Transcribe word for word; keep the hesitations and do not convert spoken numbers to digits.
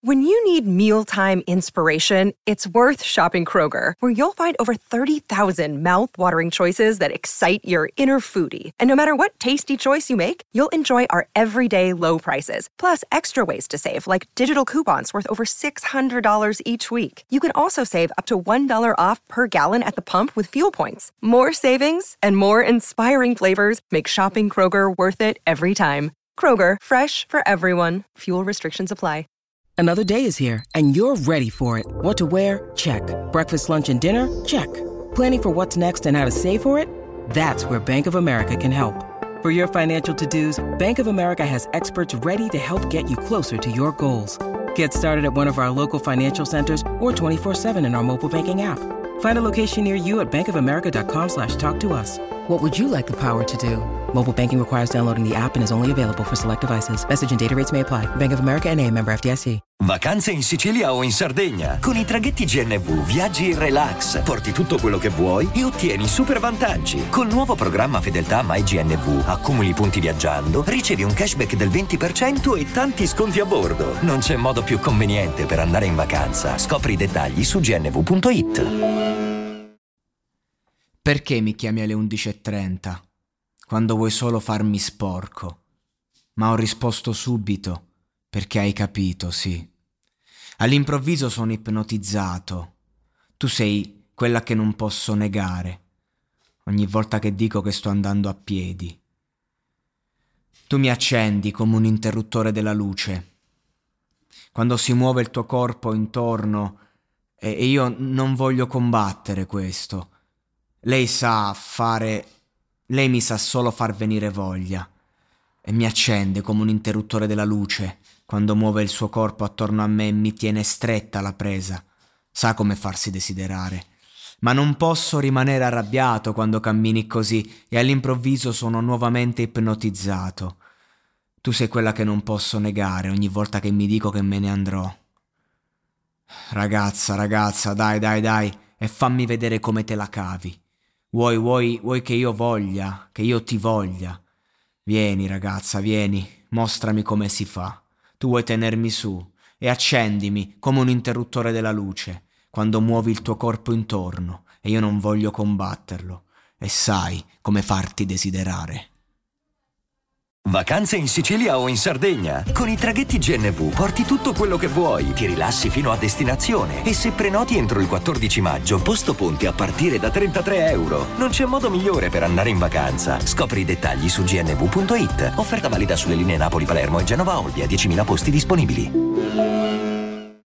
When you need mealtime inspiration, it's worth shopping Kroger, where you'll find over thirty thousand mouth-watering choices that excite your inner foodie. And no matter what tasty choice you make, you'll enjoy our everyday low prices, plus extra ways to save, like digital coupons worth over six hundred dollars each week. You can also save up to one dollar off per gallon at the pump with fuel points. More savings and more inspiring flavors make shopping Kroger worth it every time. Kroger, fresh for everyone. Fuel restrictions apply. Another day is here, and you're ready for it. What to wear? Check. Breakfast, lunch, and dinner? Check. Planning for what's next and how to save for it? That's where Bank of America can help. For your financial to-dos, Bank of America has experts ready to help get you closer to your goals. Get started at one of our local financial centers or twenty-four seven in our mobile banking app. Find a location near you at bankofamerica.com slash talk to us. What would you like the power to do? Mobile banking requires downloading the app and is only available for select devices. Message and data rates may apply. Bank of America N A, member F D I C. Vacanze in Sicilia o in Sardegna. Con i traghetti G N V viaggi in relax, porti tutto quello che vuoi e ottieni super vantaggi. Col nuovo programma Fedeltà MyGNV accumuli punti viaggiando, ricevi un cashback del venti per cento e tanti sconti a bordo. Non c'è modo più conveniente per andare in vacanza. Scopri i dettagli su g n v punto i t. Perché mi chiami alle undici e trenta? Quando vuoi solo farmi sporco. Ma ho risposto subito, perché hai capito, sì. All'improvviso sono ipnotizzato. Tu sei quella che non posso negare. Ogni volta che dico che sto andando a piedi. Tu mi accendi come un interruttore della luce. Quando si muove il tuo corpo intorno, e io non voglio combattere questo. Lei sa fare... Lei mi sa solo far venire voglia. E mi accende come un interruttore della luce quando muove il suo corpo attorno a me e mi tiene stretta la presa. Sa come farsi desiderare. Ma non posso rimanere arrabbiato quando cammini così e all'improvviso sono nuovamente ipnotizzato. Tu sei quella che non posso negare ogni volta che mi dico che me ne andrò. Ragazza, ragazza, dai, dai, dai, e fammi vedere come te la cavi. Vuoi, vuoi, vuoi che io voglia, che io ti voglia? Vieni, ragazza, vieni, mostrami come si fa. Tu vuoi tenermi su e accendimi come un interruttore della luce quando muovi il tuo corpo intorno e io non voglio combatterlo e sai come farti desiderare. Vacanze in Sicilia o in Sardegna. Con i traghetti G N V porti tutto quello che vuoi, ti rilassi fino a destinazione e se prenoti entro il quattordici maggio, posto ponti a partire da trentatré euro. Non c'è modo migliore per andare in vacanza. Scopri i dettagli su g n v punto i t. Offerta valida sulle linee Napoli-Palermo e Genova-Olbia, diecimila posti disponibili.